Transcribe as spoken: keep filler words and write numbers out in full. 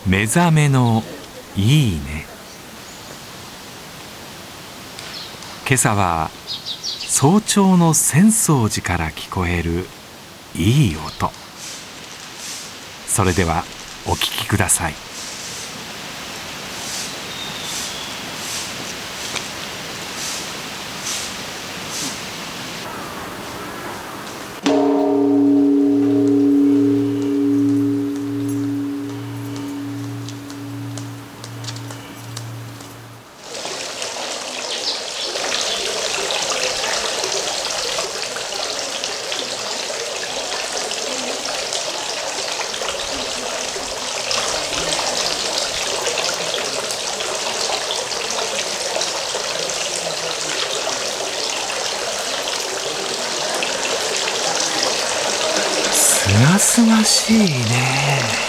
目覚めのいいね。今朝は早朝の浅草寺から聞こえるいい音。それではお聞きください。すがすがしいね。